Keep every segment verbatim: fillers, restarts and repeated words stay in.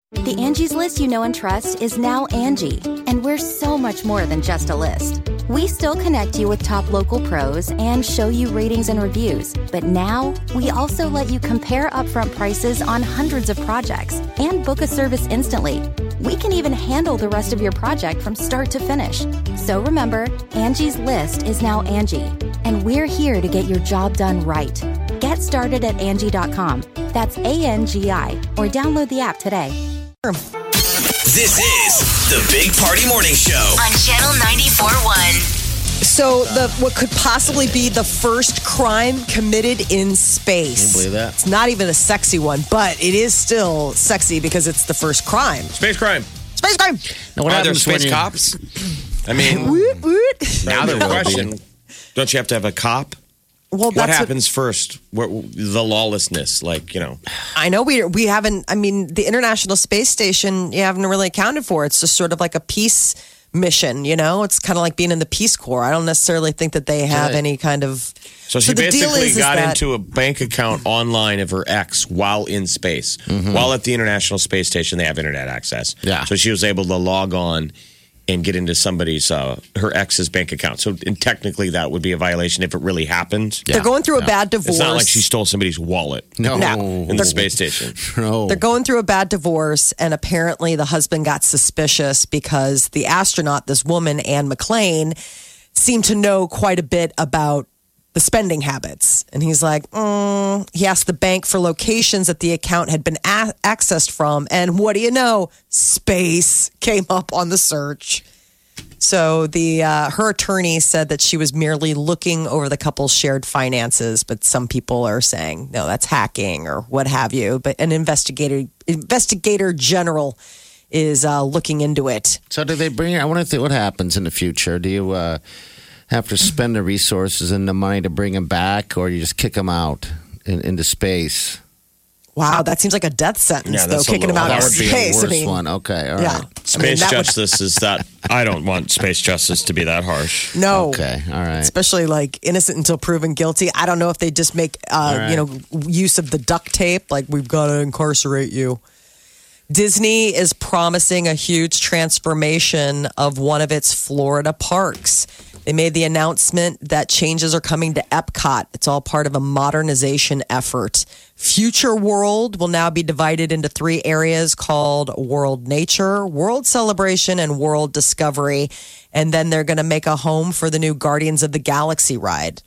The Angie's List you know and trust is now Angie, and we're so much more than just a list. We still connect you with top local pros and show you ratings and reviews, but now we also let you compare upfront prices on hundreds of projects and book a service instantly. We can even handle the rest of your project from start to finish. So remember, Angie's List is now Angie, and we're here to get your job done right. Get started at Angie dot com. That's A N G I, or download the app today. This is the Big Party Morning Show on Channel ninety-four point one. So, the what could possibly be the first crime committed in space. Can you believe that? It's not even a sexy one, but it is still sexy because it's the first crime. Space crime. Space crime. Now, what Are there happens when space you- cops? I mean, Woot, woot. now there the will be. question: don't you have to have a cop? Well, What that's happens first? What, the lawlessness, like you know. I know we we haven't. I mean, the International Space Station you haven't really accounted for. It's just sort of like a peace mission. You know, it's kind of like being in the Peace Corps. I don't necessarily think that they have Right. any kind of. So she the deal basically is, is got that- into a bank account online of her ex while in space. While at the International Space Station, they have internet access. Yeah. So she was able to log on and get into somebody's, uh, her ex's bank account. So and technically that would be a violation if it really happened. They're going through a bad divorce. It's not like she stole somebody's wallet No. No. in the space station. No. They're going through a bad divorce, and apparently the husband got suspicious because the astronaut, this woman, Anne McLean, seemed to know quite a bit about the spending habits. And he's like, mm. he asked the bank for locations that the account had been a- accessed from. And what do you know? Space came up on the search. So the uh, her attorney said that she was merely looking over the couple's shared finances, but some people are saying no, that's hacking or what have you. But an investigator investigator general is uh, looking into it. So do they bring? I wonder if what happens in the future. Do you uh, have to spend the resources and the money to bring them back, or you just kick them out in, into space? Wow, that seems like a death sentence, Yeah, though, that's a kicking them little- out That of would be space. the I worst mean, one. Okay, all right. yeah. I mean, Space that would- justice is that I don't want space justice to be that harsh. no. Okay, all right. Especially like innocent until proven guilty. I don't know if they just make, uh, right. you know, use of the duct tape. Like, we've got to incarcerate you. Disney is promising a huge transformation of one of its Florida parks. They made the announcement that changes are coming to Epcot. It's all part of a modernization effort. Future World will now be divided into three areas called World Nature, World Celebration, and World Discovery. And then they're going to make a home for the new Guardians of the Galaxy ride.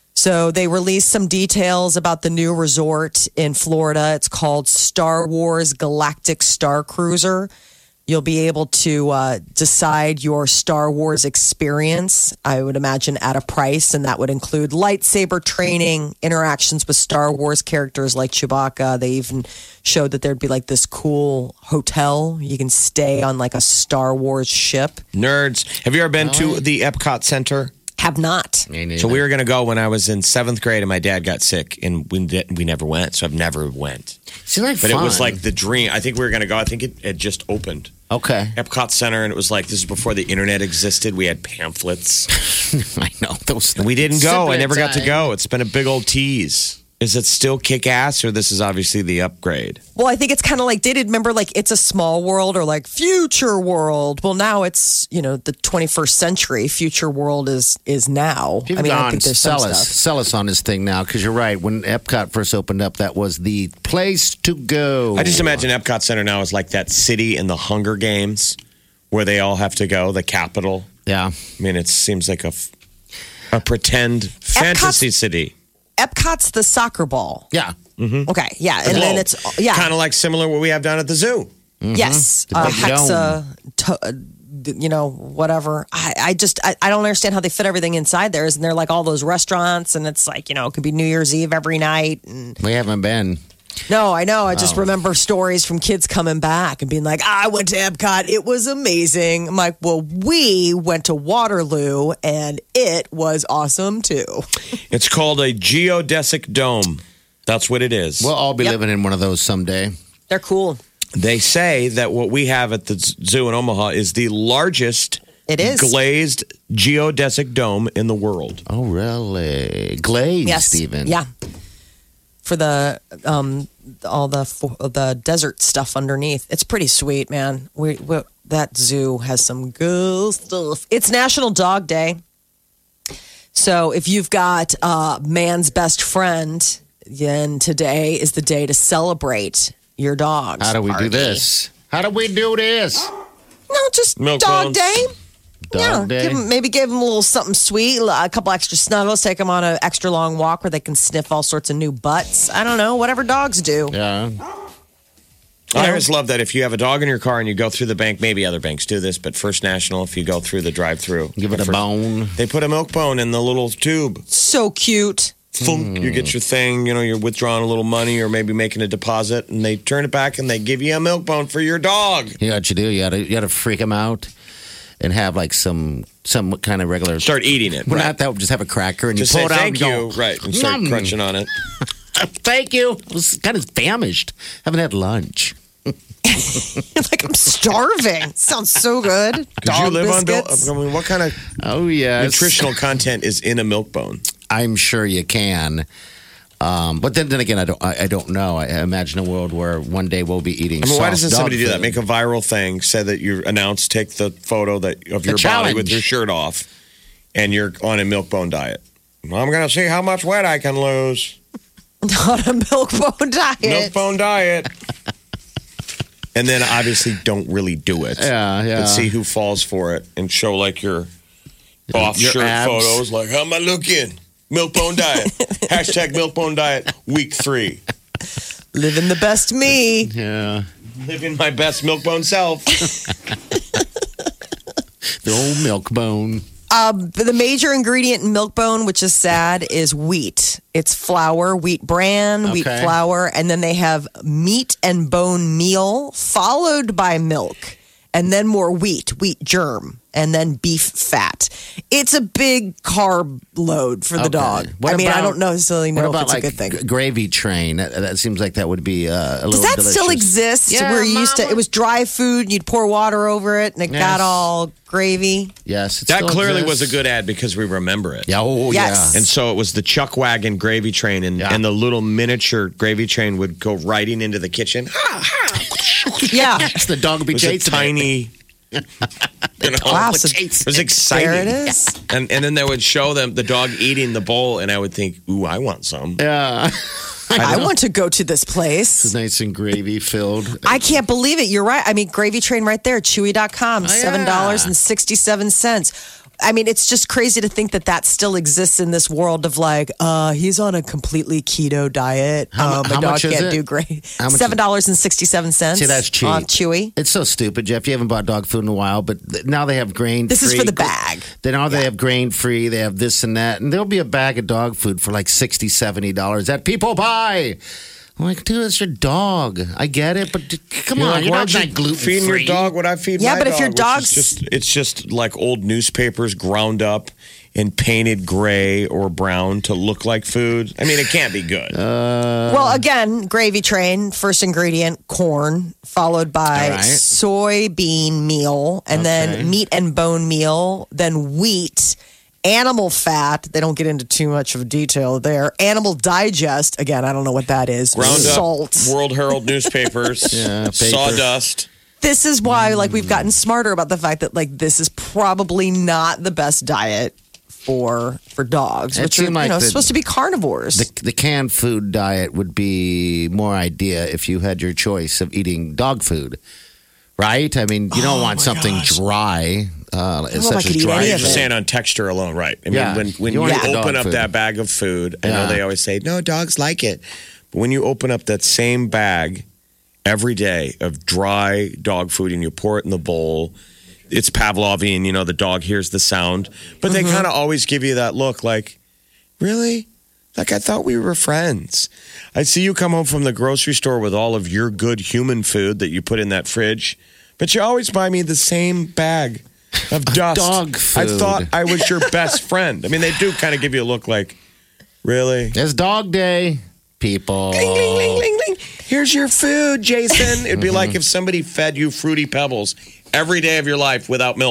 So they released some details about the new resort in Florida. It's called Star Wars Galactic Star Cruiser. You'll be able to uh, decide your Star Wars experience, I would imagine, at a price. And that would include lightsaber training, interactions with Star Wars characters like Chewbacca. They even showed that there'd be like this cool hotel. You can stay on like a Star Wars ship. Nerds. Have you ever been to the Epcot Center? Have not. Me neither. So we were going to go when I was in seventh grade, and my dad got sick, and we did, we never went. So I've never went. Seems like But fun. it was like the dream. I think we were going to go. I think it had just opened. Okay. Epcot Center, and it was like this is before the internet existed. We had pamphlets. I know those. We didn't go. I Simply never got to time. go. It's been a big old tease. Is it still kick ass, or this is obviously the upgrade? Well, I think it's kind of like, did remember like It's a Small World or like Future World? Well, now it's, you know, the twenty-first century. Future World is is now. You've I mean, I gone think there's some sell us, stuff. sell us on this thing now, because you're right. When Epcot first opened up, that was the place to go. I just imagine Epcot Center now is like that city in the Hunger Games where they all have to go, the capital. Yeah. I mean, it seems like a, f- a pretend fantasy city. Epcot's the soccer ball. Yeah. Okay, yeah, and then it's yeah, kind of like similar what we have down at the zoo. yes, The uh, big Hexa, to, uh, you know, whatever. I, I just I, I don't understand how they fit everything inside there. Isn't there like all those restaurants, and it's like, you know, it could be New Year's Eve every night. And We haven't been. no, I know. I just remember stories from kids coming back and being like, I went to Epcot. It was amazing. I'm like, well, we went to Waterloo and it was awesome too. It's called a geodesic dome. That's what it is. We'll all be Yep. living in one of those someday. They're cool. They say that what we have at the zoo in Omaha is the largest It is. glazed geodesic dome in the world. Oh, really? Glazed, Yes. even. Yeah. for the um, all the for the desert stuff underneath. It's pretty sweet, man. We, we that zoo has some good stuff. It's National Dog Day, so if you've got uh, man's best friend, then today is the day to celebrate your dogs. How do we Party. do this? How do we do this? No, just Milk Dog bones. Day. Dog yeah, day. Give 'em- maybe give them a little something sweet, a couple extra snuggles, take them on an extra long walk where they can sniff all sorts of new butts. I don't know, whatever dogs do. Yeah. I always love that if you have a dog in your car and you go through the bank, maybe other banks do this, but First National, if you go through the drive-through, Give it a First- bone. They put a milk bone in the little tube. So cute. Thunk, You get your thing, you know, you're withdrawing a little money or maybe making a deposit, and they turn it back and they give you a milk bone for your dog. You know what you do? You gotta, you gotta freak them out and have like some some kind of regular. Start eating it. Well, right? not that. Just have a cracker and Just you say pull it out thank and you, go, right, and start "Nom." crunching on it. Thank you. I was kind of famished. Haven't had lunch. Like I'm starving. Sounds so good. Could Dog you live biscuits. on? I mean, what kind of Oh yes. nutritional content is in a milk bone? I'm sure you can. Um, but then, then again, I don't. I, I don't know. I imagine a world where one day we'll be eating. I mean, why soft doesn't dog somebody do that? food. Make a viral thing, say that you announce, take the photo that of your body challenge. with your shirt off, and you're on a milk bone diet. Well, I'm going to see how much weight I can lose. Not a milk bone diet. Milk bone diet. And then obviously don't really do it. Yeah, yeah. But see who falls for it and show like your off Your shirt abs. photos. Like, how am I looking? Milk bone diet. Hashtag milk bone diet week three. Living the best me. Yeah, Living my best milk bone self. the old milk bone. Um, but the major ingredient in milk bone, which is sad, is wheat. It's flour, wheat bran, wheat Okay. flour, and then they have meat and bone meal, followed by milk, and then more wheat, wheat germ, and then beef fat. It's a big carb load for the Okay. dog. What I mean, I about- don't necessarily What know about if it's like a good thing. g- gravy train? That, that seems like that would be uh, a Does little. that delicious. still exist? Yeah, where you used to, Mama. it was dry food, you'd pour water over it, and it Yes. got all gravy. Yes, it That still clearly was exists. a good ad because we remember it. Yeah, oh Yes. yeah. And so it was the Chuck Wagon gravy train, and, Yeah. and the little miniature gravy train would go riding into the kitchen. Yeah. Yes, the dog would be It was a chasing it. tiny. You know, Wow, it so was exciting. there it is. And and then they would show them the dog eating the bowl, and I would think, "Ooh, I want some." Yeah, I want to go to this place. it's nice and gravy filled. I can't believe it. You're right. I mean, Gravy Train right there, chewy dot com, yeah. seven dollars and sixty-seven cents. I mean, it's just crazy to think that that still exists in this world of like, uh, he's on a completely keto diet. How mu- um, how my dog much is can't it? do great. How much is- seven dollars and sixty-seven cents. See, that's cheap. On Chewy. It's so stupid, Jeff. You haven't bought dog food in a while, but th- now they have grain. This is free. for the bag. Then now they have grain free. They have this and that, and there'll be a bag of dog food for like sixty, seventy dollars that people buy. I'm like, dude, it's your dog. I get it, but d- come You're on, like, your why'd dog's you not gluten feeding free. your dog what I feed Yeah, my but if dog, your which is dog's- just it's just like old newspapers ground up and painted gray or brown to look like food. I mean, it can't be good. Uh, Well, again, Gravy Train, first ingredient, corn, followed by All right. soybean meal, and Okay. then meat and bone meal, then wheat, animal fat. They don't get into too much of detail there. Animal digest. Again, I don't know what that is. Ground Salt. up World Herald newspapers, Yeah, paper. sawdust. This is why, like, we've gotten smarter about the fact that, like, this is probably not the best diet for for dogs, It which are seemed like you know the- supposed to be carnivores. the, the canned food diet would be more idea if you had your choice of eating dog food, right? I mean, you don't Oh, want my something gosh. dry, uh, if I such could as eat dry. any You're of just it. saying on texture alone, right? I mean, Yeah. when, when You you, wanna eat the open dog up food. that bag of food, I know Yeah. they always say, no, dogs like it. But when you open up that same bag every day of dry dog food and you pour it in the bowl, it's Pavlovian, you know, the dog hears the sound. But they kind of always give you that look like, really? Like, I thought we were friends. I see you come home from the grocery store with all of your good human food that you put in that fridge, but you always buy me the same bag of dust. dog I food. thought I was your best friend. I mean, they do kind of give you a look like, really? It's dog day, people. Ling, ling, ling, ling, ling. Here's your food, Jason. It'd be like if somebody fed you Fruity Pebbles every day of your life without milk.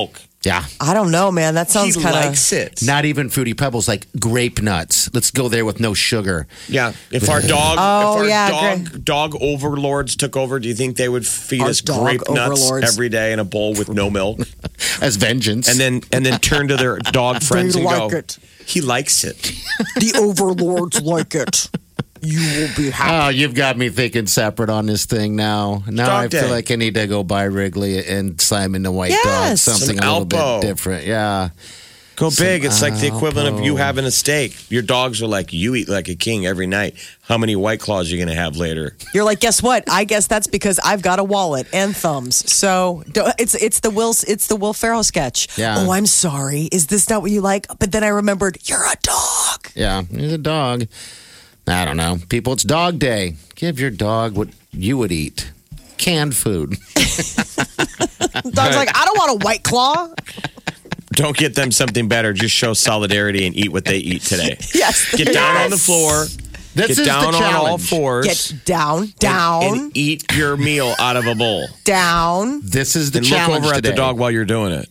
Yeah. I don't know, man. That sounds he kind of. likes it. Not even Fruity Pebbles, like grape nuts. Let's go there with no sugar. Yeah. If our dog, Oh, if our yeah, dog, great. dog overlords took over, do you think they would feed Our us dog grape nuts overlords. every day in a bowl with no milk, As vengeance. and then and then turn to their dog friends They and like go, it. "He likes it." The overlords like it. You will be happy. Oh, you've got me thinking separate on this thing now. Now Dog I feel day. like I need to go buy Wrigley and Simon the White Dog. Yes. Something Some a little Alpo. bit different. Yeah. Go big. It's like the equivalent of you Alpo. having a steak. Your dogs are like, you eat like a king every night. How many White Claws are you going to have later? You're like, guess what? I guess that's because I've got a wallet and thumbs. So don't- it's it's the Will it's the Will Ferrell sketch. Yeah. Oh, I'm sorry. Is this not what you like? But then I remembered you're a dog. Yeah. He's a dog. I don't know. People, it's dog day. Give your dog what you would eat. Canned food. Dog's like, I don't want a White Claw. Don't get them something better. Just show solidarity and eat what they eat today. Yes. Get down yes. on the floor. This Get is down the on all challenge. fours. Get down, down, and eat your meal out of a bowl. down. This is the And look challenge over at today. the dog while you're doing it.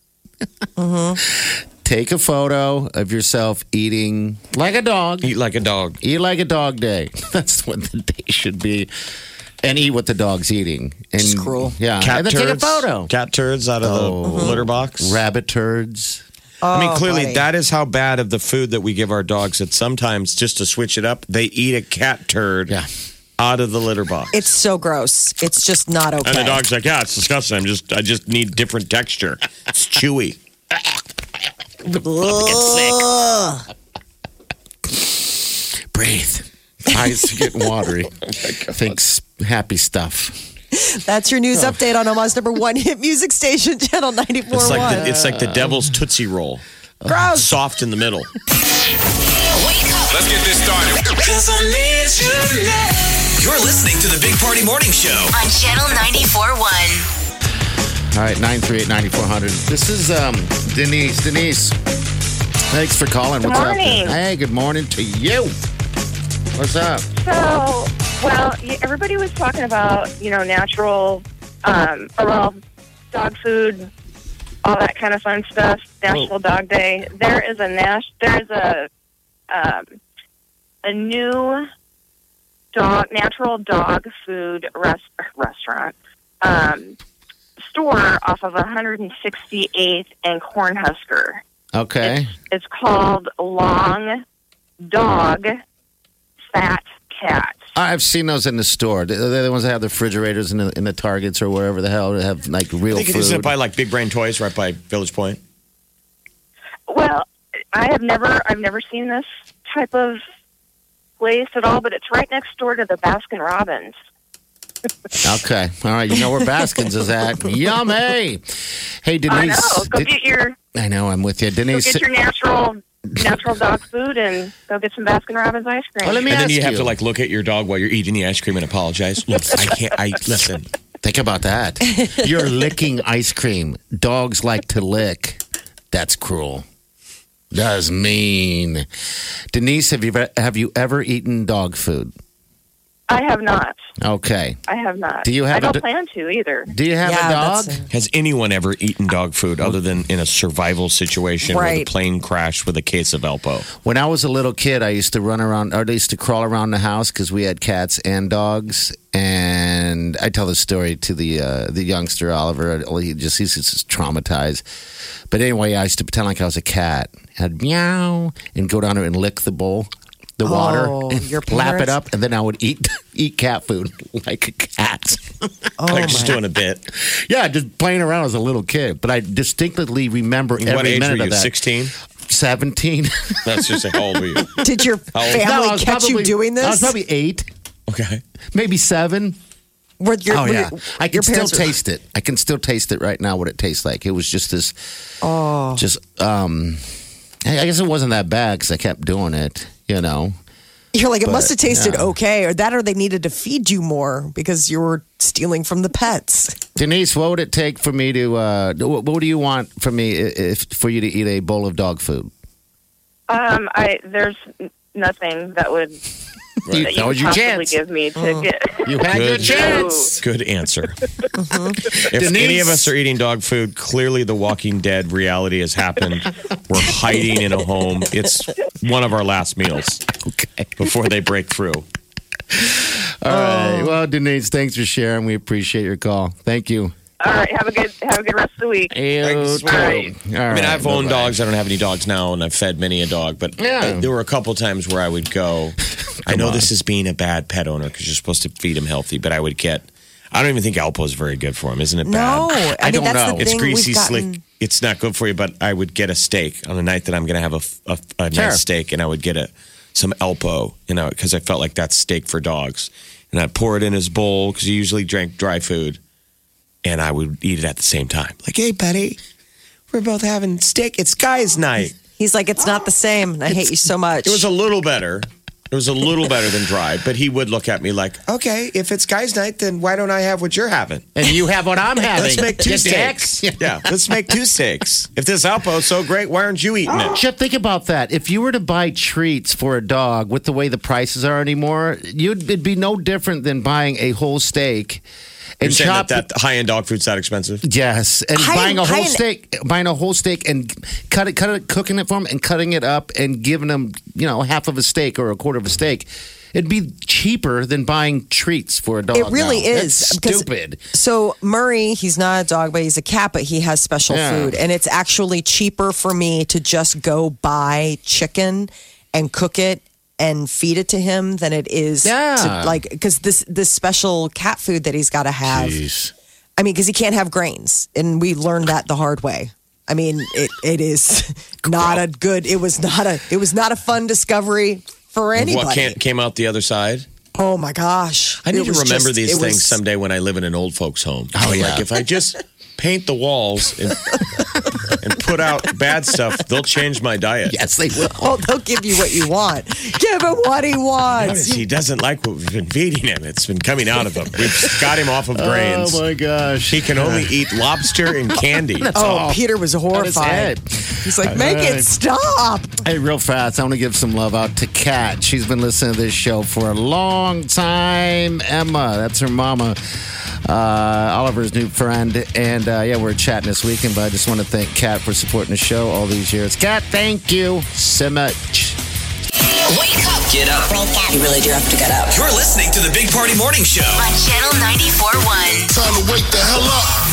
Take a photo of yourself eating like a dog. Eat like a dog. Eat like a dog day. That's what the day should be. And eat what the dog's eating. And, It's cruel. Yeah. Cat and then turds. take a photo. Cat turds out of Oh. the litter box. Rabbit turds. I mean, Oh, clearly, buddy. that is how bad of the food that we give our dogs that sometimes, just to switch it up, they eat a cat turd Yeah. out of the litter box. It's so gross. It's just not okay. and the dog's like, yeah, it's disgusting. I'm just, I just need different texture. It's chewy. Ugh. Breathe. Eyes are getting watery. Thinks happy stuff. That's your news update on Omaha's number one hit music station, Channel ninety-four It's point one. like the, it's like the devil's Tootsie Roll. Gross. Soft in the middle. Wake up Let's get this started. You're listening to the Big Party Morning Show. on Channel ninety-four point one. All right, nine three eight, nine four zero zero. This is um, Denise. Denise, thanks for calling. What's morning. up? Hey, good morning to you. What's up? So, well, y- everybody was talking about, you know, natural, um, or, well, dog food, all that kind of fun stuff. National Dog Day. There is a nas- There is a um, a new dog natural dog food res- restaurant um, store off of one hundred sixty-eighth and Cornhusker. Okay. It's called Long Dog Fat Cat. I've seen those in the store. They're the ones that have the refrigerators in the, in the Targets or wherever the hell that have like real I think food. it's by like Big Brain Toys right by Village Point. Well, I have never, I've never seen this type of place at all, but it's right next door to the Baskin Robbins. Okay. All right. You know where Baskins is at. Yummy. Hey, Denise. I know. Go did- get your, I know. I'm with you. go Denise. get your natural, natural dog food, and go get some Baskin Robbins ice cream. Well, let me And then ask you have to like look at your dog while you're eating the ice cream and apologize. Look, I can't. I listen. Think about that. You're licking ice cream. Dogs like to lick. That's cruel. That's mean. Denise, have you ever, have you ever eaten dog food? I have not. Okay. I have not. Do you have I don't a d- plan to either. Do you have Yeah, a dog? that's a- Has anyone ever eaten dog food other than in a survival situation where the Right. plane crashed with a case of Elpo? When I was a little kid, I used to run around, or I used to crawl around the house because we had cats and dogs. And I tell the story to the uh, the youngster Oliver. He just he's just traumatized. But anyway, I used to pretend like I was a cat. I'd meow and go down there and lick the bowl, the Oh, water, and your lap it parents? up, and then I would eat eat cat food like a cat. Oh, like just my. doing a bit. Yeah, just playing around as a little kid. But I distinctly remember every What age minute were of you? that. Sixteen. Seventeen. That's just how old were you? Did your old? family No, I was catch you probably- doing this? I was probably eight, Okay. maybe seven. Were your, Oh were yeah, your- I can your still parents were- taste it. I can still taste it right now. What it tastes like. It was just this. Oh, just um. I I guess it wasn't that bad because I kept doing it. You know. You're like, it But, must have tasted yeah. okay, or that, or they needed to feed you more because you were stealing from the pets. Denise, what would it take for me to? Uh, what, what do you want from me if for you to eat a bowl of dog food? Um, I there's n- nothing that would Right. that you That was could your possibly chance. give me to Mm. get. You had your Good. chance. Good answer. Mm-hmm. If Denise. any of us are eating dog food, clearly the Walking Dead reality has happened. We're hiding in a home. It's one of our last meals Okay. before they break through. All right. Well, Denise, thanks for sharing. We appreciate your call. Thank you. All right, have a good have a good rest of the week. You Thanks. too. All right. All I mean, right. I've owned Bye-bye. dogs. I don't have any dogs now, and I've fed many a dog. But Yeah. there were a couple times where I would go. I know this is being a bad pet owner because you're supposed to feed him healthy, but I would get. I don't even think Alpo is very good for him, isn't it? No, bad? I, I mean don't that's know. the It's thing. greasy, We've gotten, slick. It's not good for you. But I would get a steak on the night that I'm going to have a, a, a Sure. nice steak, and I would get a some Alpo, you know, because I felt like that's steak for dogs, and I'd pour it in his bowl because he usually drank dry food. And I would eat it at the same time. Like, hey, buddy, we're both having steak. It's guys' night. He's like, it's not the same. And I hate you so much. It was a little better. It was a little better than dry. But he would look at me like, okay, if it's guys' night, then why don't I have what you're having? And you have what I'm having. Let's make two You steaks. dick. Yeah, let's make two steaks. If this Alpo's so great, why aren't you eating it? Chip, think about that. If you were to buy treats for a dog with the way the prices are anymore, you'd it'd be no different than buying a whole steak You're and saying chop. that, that high-end dog food's that expensive? Yes, and High- buying a whole high- steak, buying a whole steak and cut it, cut it, cooking it for them, and cutting it up and giving them, you know, half of a steak or a quarter of a steak. It'd be cheaper than buying treats for a dog. It really now. is. That's because- stupid. So Murray, he's not a dog, but he's a cat, but he has special Yeah. food. And it's actually cheaper for me to just go buy chicken and cook it and feed it to him than it is Yeah. to like because this this special cat food that he's got to have. Jeez. I mean, because he can't have grains, and we learned that the hard way. I mean, it it is not a good. It was not a. It was not a fun discovery for anybody. What can't, came out the other side? Oh my gosh! I need It to was remember just- these it things was- someday when I live in an old folks' home. Oh, yeah. Like if I just paint the walls and, and put out bad stuff, they'll change my diet. Yes, they will. Oh, they'll give you what you want. Give him what he Notice wants. he doesn't like what we've been feeding him. It's been coming out of him. We've got him off of grains. Oh my gosh. He can only eat lobster and candy. Oh, Peter was That is horrified. it. He's like, make it stop. Hey, real fast, I want to give some love out to Kat. She's been listening to this show for a long time. Emma, that's her mama. Uh, Oliver's new friend. And uh, yeah, we're chatting this weekend, but I just want to thank Kat for supporting the show all these years. Kat, thank you so much. Wake up Get up. You really do have to get up. You're listening to the Big Party Morning Show. On Channel ninety-four point one. Time to wake the hell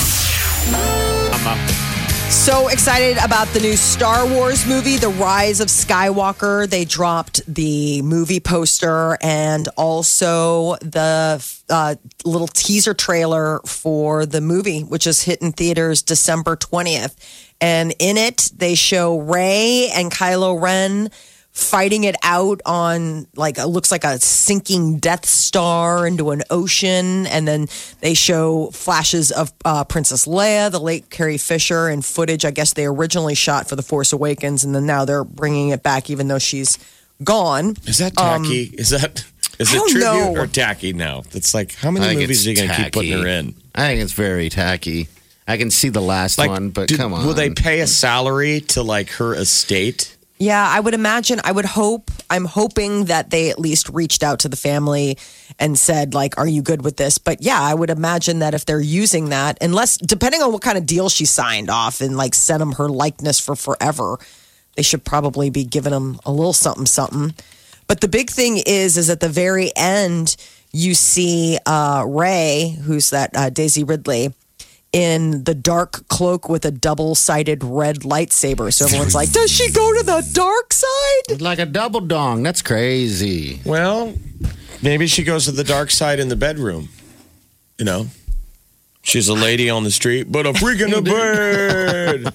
up. So excited about the new Star Wars movie, The Rise of Skywalker. They dropped the movie poster and also the uh, little teaser trailer for the movie, which is hitting theaters December twentieth. And in it, they show Rey and Kylo Ren fighting it out on like it looks like a sinking Death Star into an ocean, and then they show flashes of uh, Princess Leia, the late Carrie Fisher, and footage I guess they originally shot for The Force Awakens, and then now they're bringing it back even though she's gone. Is that tacky? is that is I it don't tribute know. or tacky now? It's like how I many think movies it's are you going to keep tacky. putting her in? I think it's very tacky. I can see the last Like, one, but do- come on. will they pay a salary to like her estate? Yeah, I would imagine, I would hope, I'm hoping that they at least reached out to the family and said, like, are you good with this? But yeah, I would imagine that if they're using that, unless, depending on what kind of deal she signed off and like sent them her likeness for forever, they should probably be giving them a little something, something. But the big thing is, is at the very end, you see uh, Rey, who's that uh, Daisy Ridley, in the dark cloak with a double-sided red lightsaber. So everyone's like, does she go to the dark side? Like a double dong. That's crazy. Well, maybe she goes to the dark side in the bedroom. You know, she's a lady on the street, but a freak in the bed.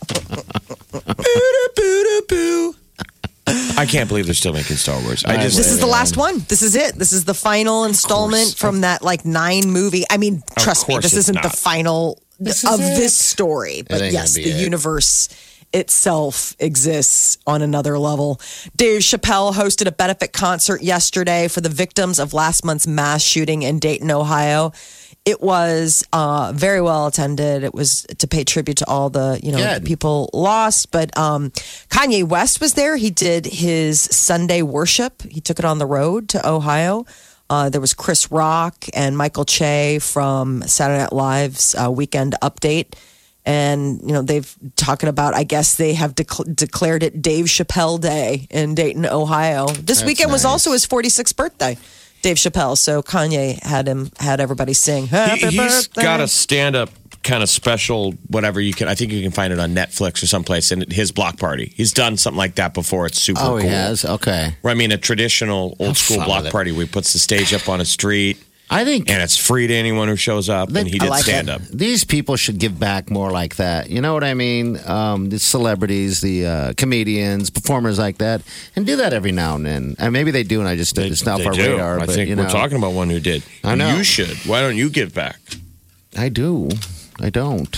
Boo-da-boo-da-boo. I can't believe they're still making Star Wars. I just This is the last one. This is it. This is the final installment course. from that like nine movie. I mean, trust me, course this it's isn't the not. final This of is this it. story. But ain't yes, gonna the be it. universe itself exists on another level. Dave Chappelle hosted a benefit concert yesterday for the victims of last month's mass shooting in Dayton, Ohio. It was uh, very well attended. It was to pay tribute to all the you know Good. people lost. But um, Kanye West was there. He did his Sunday worship. He took it on the road to Ohio. Uh, there was Chris Rock and Michael Che from Saturday Night Live's uh, Weekend Update. And, you know, they've talking about, I guess they have dec- declared it Dave Chappelle Day in Dayton, Ohio. This That's weekend was nice. also his forty-sixth birthday, Dave Chappelle. So Kanye had him, had everybody sing Happy He, he's Birthday. got a stand-up kind of special, whatever you can. I think you can find it on Netflix or someplace. And his block party. He's done something like that before. It's super Oh, cool. he has? Okay. Where, I mean, a traditional old school fun block with it. party where he puts the stage up on a street. I think And it's free to anyone who shows up. And he I did like stand it. up. These people should give back more like that. You know what I mean? Um, the celebrities, the uh, comedians, performers like that, and do that every now and then. And maybe they do, and I just it's not off our do. radar. I but, think you we're know, talking about one who did. I know. You should. Why don't you give back? I do. I don't.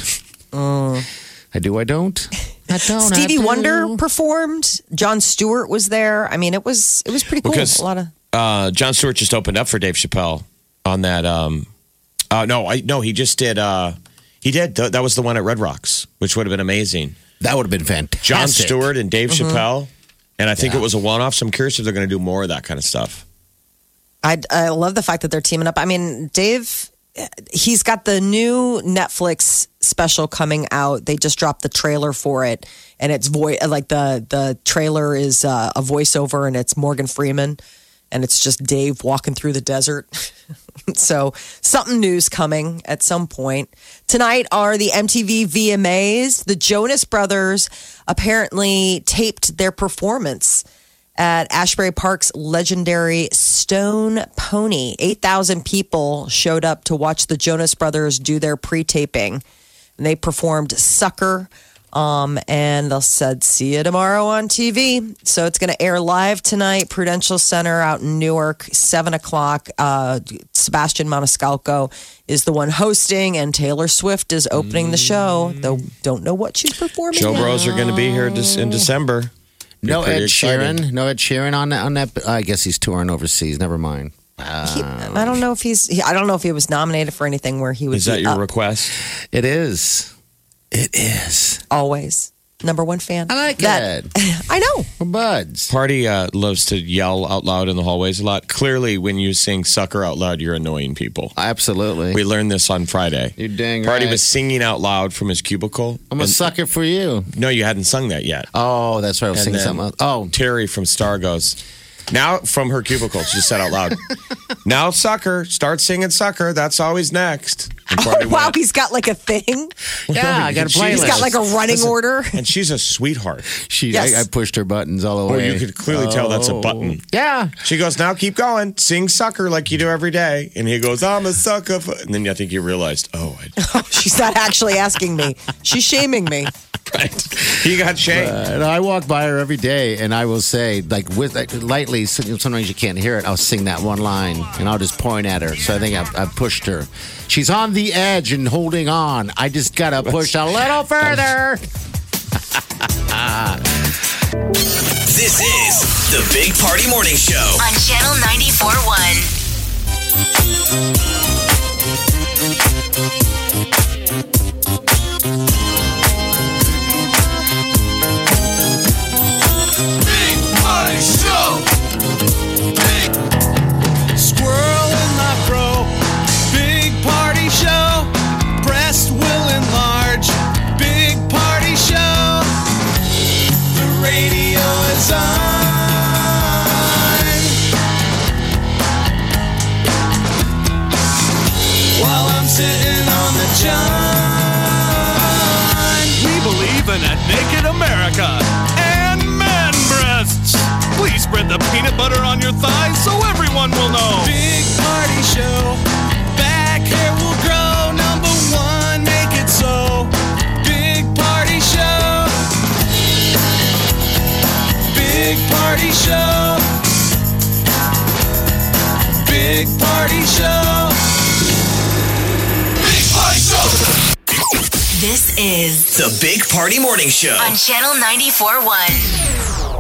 I do. I don't. I don't. Stevie I do. Wonder performed. Jon Stewart was there. I mean, it was it was pretty cool. Because a lot of uh, Jon Stewart just opened up for Dave Chappelle on that. Um, uh, no, I no, he just did. Uh, he did. Th- that was the one at Red Rocks, which would have been amazing. That would have been fantastic. Jon Stewart and Dave Mm-hmm. Chappelle, and I think Yeah. it was a one-off. So I'm curious if they're going to do more of that kind of stuff. I, I love the fact that they're teaming up. I mean, Dave, he's got the new Netflix special coming out. They just dropped the trailer for it, and it's voice like the the trailer is uh, a voiceover, and it's Morgan Freeman, and it's just Dave walking through the desert. So something new's coming at some point. Tonight are the M T V V M As. The Jonas Brothers apparently taped their performance at Ashbury Park's legendary Stone Pony. eight thousand people showed up to watch the Jonas Brothers do their pre-taping. And they performed Sucker. Um, and they'll said, see you tomorrow on T V. So it's going to air live tonight, Prudential Center out in Newark, seven o'clock. Uh, Sebastian Maniscalco is the one hosting, and Taylor Swift is opening the show, though don't know what she's performing Joe yet. Bros are going to be here dis- in December. Be No pretty Ed excited. Sheeran. No Ed Sheeran on that. On that. I guess he's touring overseas. Never mind. He, I don't know if he's. He, I don't know if he was nominated for anything where he would Is that be your up. request? It is. It is. Always number one fan. I like that. it. I know. We're buds. Party uh, loves to yell out loud in the hallways a lot. Clearly, when you sing Sucker out loud, you're annoying people. Absolutely. We learned this on Friday. You're dang Party right. was singing out loud from his cubicle. I'm a And- sucker for you. No, you hadn't sung that yet. Oh, that's right. I was And singing then something else. Oh, Terry from Star goes, now from her cubicle, she just said out loud, now Sucker, start singing Sucker. That's always next. And Party Oh, wow, went, he's got like a thing. yeah, I got a She's playlist. He's got like a running Listen, order. And she's a sweetheart. She, Yes. I, I pushed her buttons all the Oh, way. you could clearly tell that's a Oh. button. Yeah. She goes, now keep going. Sing Sucker like you do every day. And he goes, I'm a sucker. For... And then I think you realized, oh, I... She's not actually asking me. She's shaming me. right. He got shamed. Uh, and I walk by her every day, and I will say, like, with like, lightly, sometimes you can't hear it. I'll sing that one line, and I'll just point at her. So I think I've, I've pushed her. She's on the edge and holding on. I just got to push a little further. This is the Big Party Morning Show. On Channel ninety-four point one. Big Party Show. Big Squirrel in my fro. Big party show. Breast will enlarge. Big party show. The radio is on. While I'm sitting on the john. We believe in a naked America and man breasts. Please spread the peanut butter on your thighs so everyone will know. Big party show. Back hair will grow. Number one, make it so. Big party show. Big party show. Big party show. Big Party Show. This is The Big Party Morning Show. on Channel ninety-four point one.